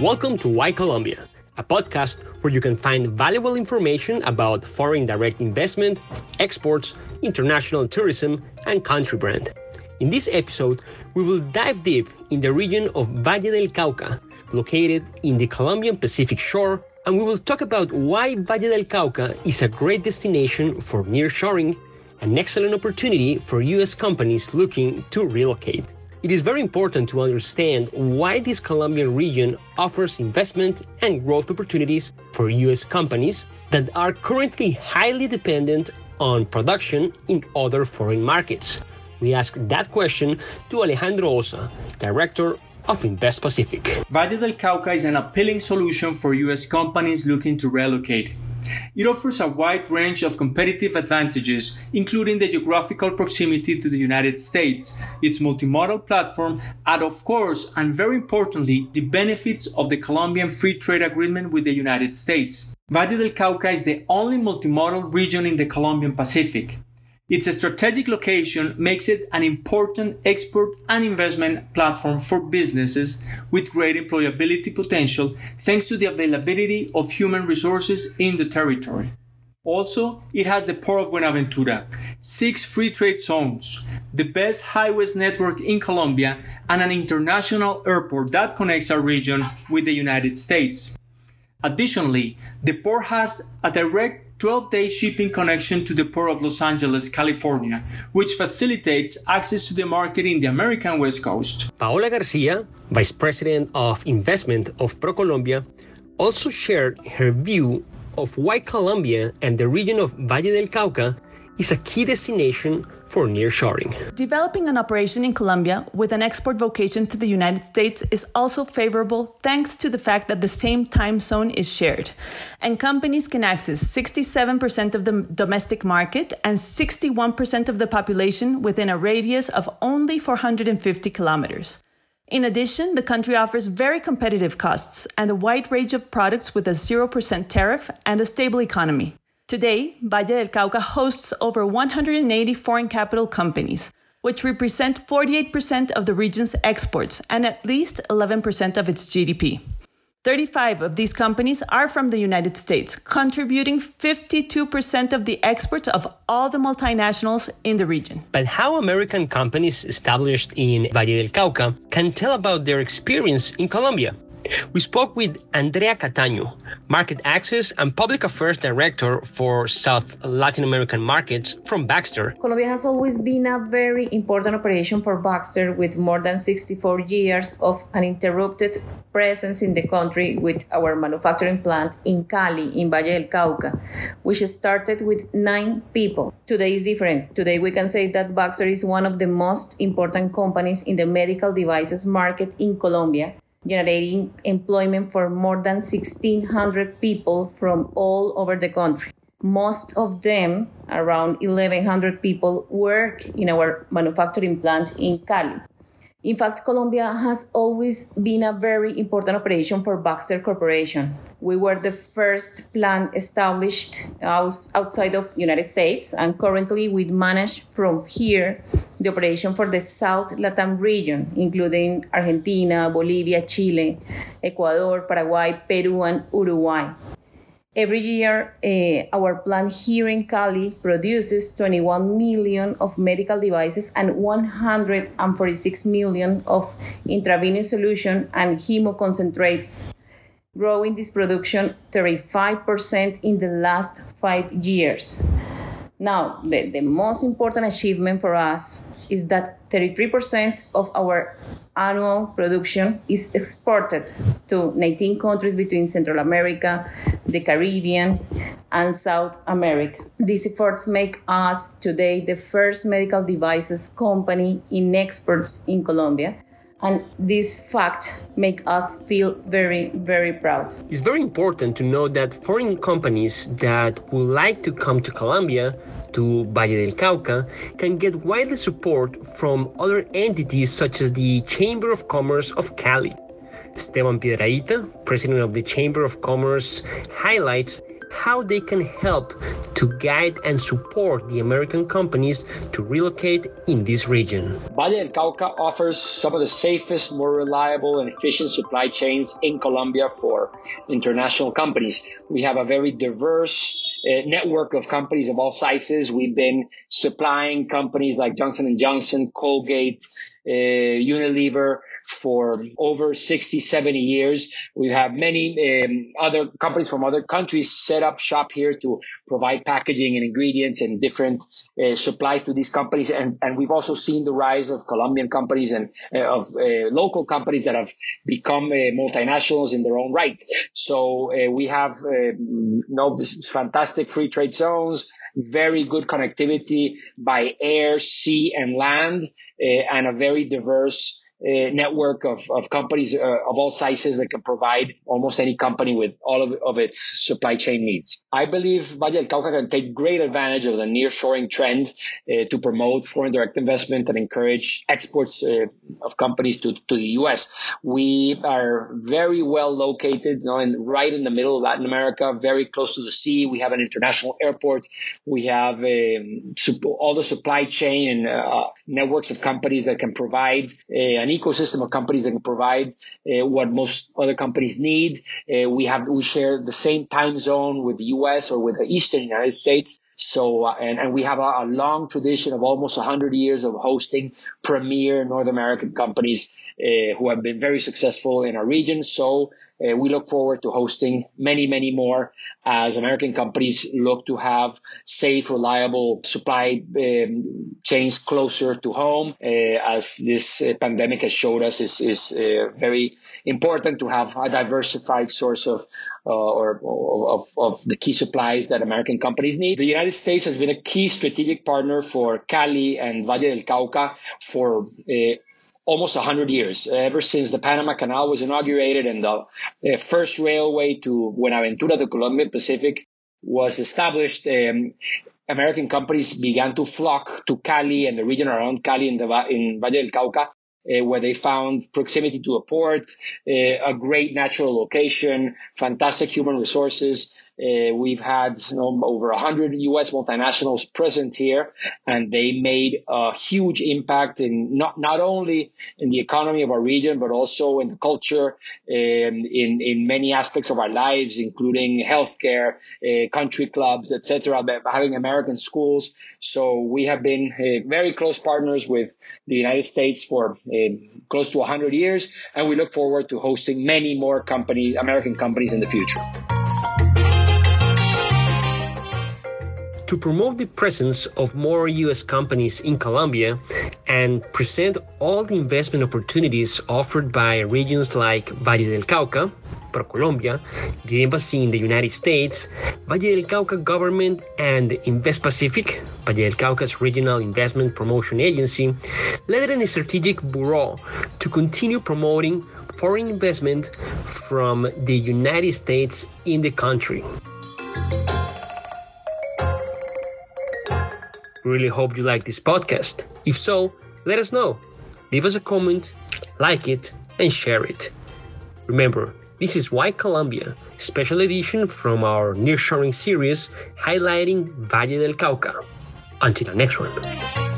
Welcome to Why Colombia, a podcast where you can find valuable information about foreign direct investment, exports, international tourism, and country brand. In this episode, we will dive deep in the region of Valle del Cauca, located in the Colombian Pacific shore, and we will talk about why Valle del Cauca is a great destination for nearshoring, an excellent opportunity for U.S. companies looking to relocate. It is very important to understand why this Colombian region offers investment and growth opportunities for U.S. companies that are currently highly dependent on production in other foreign markets. We asked that question to Alejandro Osa, Director of Invest Pacific. Valle del Cauca is an appealing solution for U.S. companies looking to relocate. It offers a wide range of competitive advantages, including the geographical proximity to the United States, its multimodal platform, and of course, and very importantly, the benefits of the Colombian Free Trade Agreement with the United States. Valle del Cauca is the only multimodal region in the Colombian Pacific. Its strategic location makes it an important export and investment platform for businesses with great employability potential thanks to the availability of human resources in the territory. Also, it has the Port of Buenaventura, 6 free trade zones, the best highways network in Colombia, and an international airport that connects our region with the United States. Additionally, the port has a direct 12-day shipping connection to the Port of Los Angeles, California, which facilitates access to the market in the American West Coast. Paola Garcia, Vice President of Investment of ProColombia, also shared her view of why Colombia and the region of Valle del Cauca is a key destination for nearshoring. Developing an operation in Colombia with an export vocation to the United States is also favorable thanks to the fact that the same time zone is shared, and companies can access 67% of the domestic market and 61% of the population within a radius of only 450 kilometers. In addition, the country offers very competitive costs and a wide range of products with a 0% tariff and a stable economy. Today, Valle del Cauca hosts over 180 foreign capital companies, which represent 48% of the region's exports and at least 11% of its GDP. 35 of these companies are from the United States, contributing 52% of the exports of all the multinationals in the region. But how American companies established in Valle del Cauca can tell about their experience in Colombia? We spoke with Andrea Cataño, Market Access and Public Affairs Director for South Latin American markets from Baxter. Colombia has always been a very important operation for Baxter with more than 64 years of uninterrupted presence in the country with our manufacturing plant in Cali, in Valle del Cauca, which started with 9 people. Today is different. Today we can say that Baxter is one of the most important companies in the medical devices market in Colombia, generating employment for more than 1,600 people from all over the country. Most of them, around 1,100 people, work in our manufacturing plant in Cali. In fact, Colombia has always been a very important operation for Baxter Corporation. We were the first plant established outside of the United States, and currently we manage from here the operation for the South Latam region, including Argentina, Bolivia, Chile, Ecuador, Paraguay, Peru, and Uruguay. Every year, our plant here in Cali produces 21 million of medical devices and 146 million of intravenous solution and hemoconcentrates, growing this production 35% in the last 5 years. Now, the most important achievement for us is that 33% of our annual production is exported to 19 countries between Central America, the Caribbean, and South America. These efforts make us today the first medical devices company in exports in Colombia. And this fact makes us feel very, very proud. It's very important to know that foreign companies that would like to come to Colombia, to Valle del Cauca, can get widely support from other entities such as the Chamber of Commerce of Cali. Esteban Piedrahita, president of the Chamber of Commerce, highlights how they can help to guide and support the American companies to relocate in this region. Valle del Cauca offers some of the safest, more reliable, and efficient supply chains in Colombia for international companies. We have a very diverse network of companies of all sizes. We've been supplying companies like Johnson & Johnson, Colgate, Unilever for over 60, 70 years. We have many other companies from other countries set up shop here to provide packaging and ingredients and different supplies to these companies. And we've also seen the rise of Colombian companies and of local companies that have become multinationals in their own right. So we have this fantastic free trade zones, very good connectivity by air, sea, and land, and a very diverse network of companies of all sizes that can provide almost any company with all of its supply chain needs. I believe Valle del Cauca can take great advantage of the nearshoring trend to promote foreign direct investment and encourage exports of companies to the U.S. We are very well located, right in the middle of Latin America, very close to the sea. We have an international airport. We have all the supply chain and networks of companies that can provide an ecosystem of companies that can provide what most other companies need. We share the same time zone with the U.S. or with the Eastern United States. So, and we have a long tradition of almost 100 years of hosting premier North American companies who have been very successful in our region. So we look forward to hosting many, many more as American companies look to have safe, reliable supply chains closer to home. As this pandemic has showed us, is very important to have a diversified source of the key supplies that American companies need. The United States has been a key strategic partner for Cali and Valle del Cauca for almost 100 years, ever since the Panama Canal was inaugurated and the first railway to Buenaventura to Colombian Pacific was established. American companies began to flock to Cali and the region around Cali in Valle del Cauca, where they found proximity to a port, a great natural location, fantastic human resources. We've had over 100 U.S. multinationals present here, and they made a huge impact in not only in the economy of our region, but also in the culture, in many aspects of our lives, including healthcare, country clubs, etc., having American schools. So we have been very close partners with the United States for close to 100 years, and we look forward to hosting many more American companies in the future. To promote the presence of more U.S. companies in Colombia and present all the investment opportunities offered by regions like Valle del Cauca, ProColombia, the Embassy in the United States, Valle del Cauca government, and Invest Pacific, Valle del Cauca's regional investment promotion agency, led a strategic bureau to continue promoting foreign investment from the United States in the country. Really hope you like this podcast. If so, let us know. Leave us a comment, like it, and share it. Remember, this is Why Colombia, special edition from our Nearshoring series highlighting Valle del Cauca. Until the next one.